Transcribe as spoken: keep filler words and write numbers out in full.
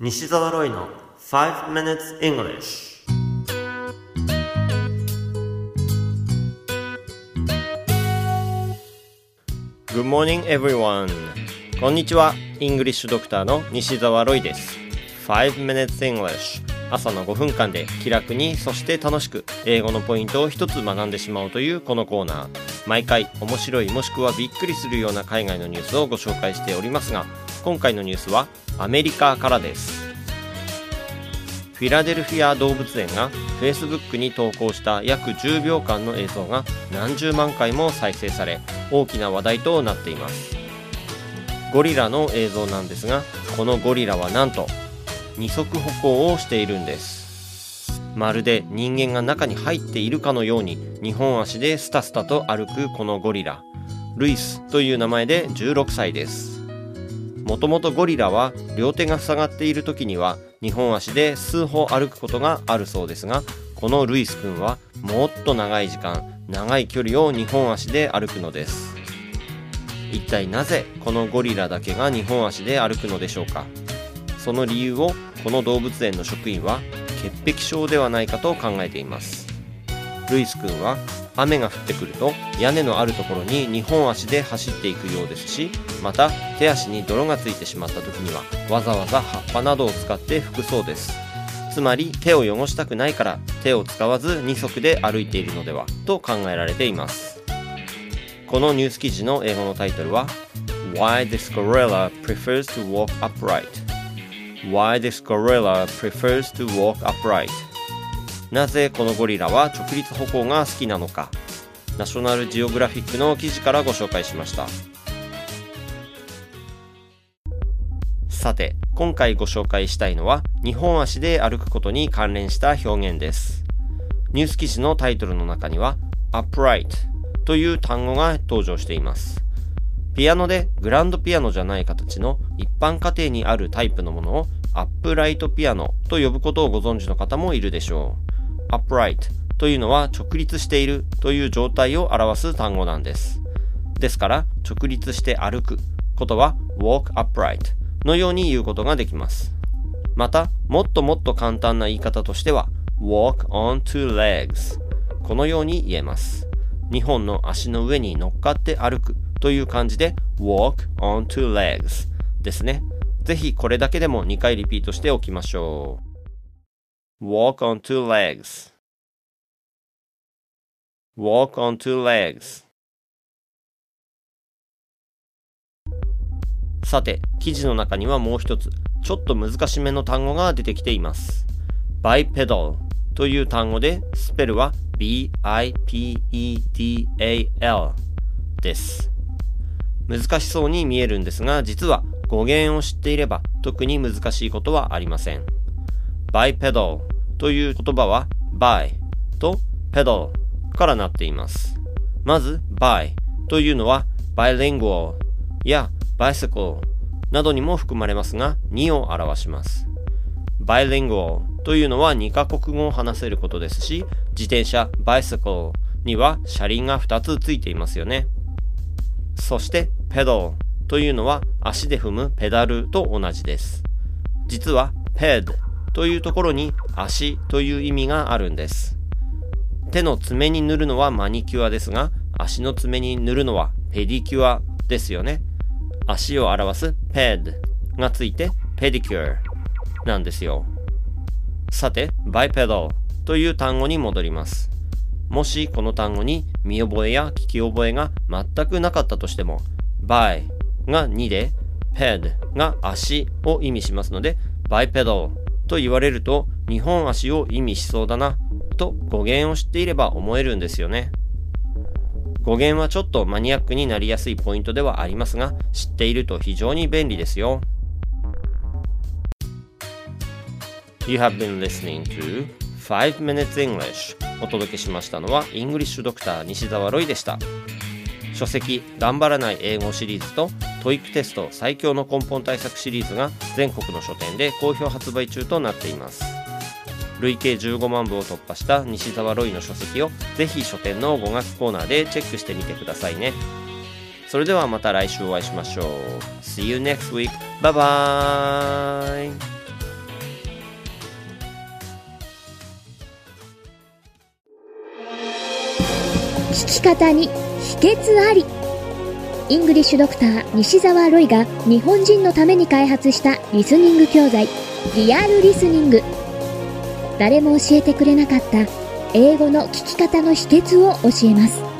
西澤ロイの five minutes English。 Good morning everyone。 こんにちは。イングリッシュドクターの西澤ロイです。 five minutes English、 朝のごふんかんで気楽にそして楽しく英語のポイントを一つ学んでしまおうというこのコーナー、毎回面白いもしくはびっくりするような海外のニュースをご紹介しておりますが、今回のニュースはアメリカからです。フィラデルフィア動物園が Facebook に投稿した約じゅうびょうかんの映像が何十万回も再生され、大きな話題となっています。ゴリラの映像なんですが、このゴリラはなんと二足歩行をしているんです。まるで人間が中に入っているかのようににほん足でスタスタと歩くこのゴリラ、ルイスという名前でじゅうろくさいです。もともとゴリラは両手が塞がっている時にはにほん足で数歩歩くことがあるそうですが、このルイス君はもっと長い時間、長い距離をにほん足で歩くのです。一体なぜこのゴリラだけがにほん足で歩くのでしょうか。その理由をこの動物園の職員は潔癖症ではないかと考えています。ルイス君は雨が降ってくると屋根のあるところににほん足で走っていくようですし、また手足に泥がついてしまった時にはわざわざ葉っぱなどを使って拭くそうです。つまり手を汚したくないから手を使わず二足で歩いているのではと考えられています。このニュース記事の英語のタイトルは Why this gorilla prefers to walk upright Why this gorilla prefers to walk upright なぜこのゴリラは直立歩行が好きなのか、ナショナルジオグラフィックの記事からご紹介しました。さて、今回ご紹介したいのはにほん足で歩くことに関連した表現です。ニュース記事のタイトルの中には upright という単語が登場しています。ピアノでグランドピアノじゃない形の一般家庭にあるタイプのものをアップライトピアノと呼ぶことをご存知の方もいるでしょう。upright というのは直立しているという状態を表す単語なんです。ですから直立して歩くことは walk upright のように言うことができます。またもっともっと簡単な言い方としては walk on two legs このように言えます。にほんの足の上に乗っかって歩くという感じで walk on two legs ですね。ぜひこれだけでもにかいリピートしておきましょう。walk on two legs walk on two legs。 さて、記事の中にはもう一つちょっと難しめの単語が出てきています。 bipedal という単語でスペルは ビーアイピーイーディーエーエル です。難しそうに見えるんですが、実は語源を知っていれば特に難しいことはありません。bipedal という言葉は by と pedal からなっています。まず by というのは bilingual や bicycle などにも含まれますが、にを表します。bilingual というのはにカ国語を話せることですし、自転車 bicycle には車輪がふたつついていますよね。そして pedal というのは足で踏むペダルと同じです。実は ped というところに足という意味があるんです。手の爪に塗るのはマニキュアですが、足の爪に塗るのはペディキュアですよね。足を表す ped がついて pedicure なんですよ。さて bipedal という単語に戻ります。もしこの単語に見覚えや聞き覚えが全くなかったとしても、by がにで ped が足を意味しますので、bipedal と言われるとにほん足を意味しそうだなと語源を知っていれば思えるんですよね。語源はちょっとマニアックになりやすいポイントではありますが、知っていると非常に便利ですよ。 You have been listening to five minutes English。 お届けしましたのはイングリッシュドクター西澤ロイでした。書籍頑張らない英語シリーズと トーイック テスト最強の根本対策シリーズが全国の書店で好評発売中となっています。累計じゅうごまんぶを突破した西澤ロイの書籍をぜひ書店の語学コーナーでチェックしてみてくださいね。それではまた来週お会いしましょう。 See you next week. Bye bye. 聞き方に秘訣あり。イングリッシュドクター西澤ロイが日本人のために開発したリスニング教材リアルリスニング。誰も教えてくれなかった英語の聞き方の秘訣を教えます。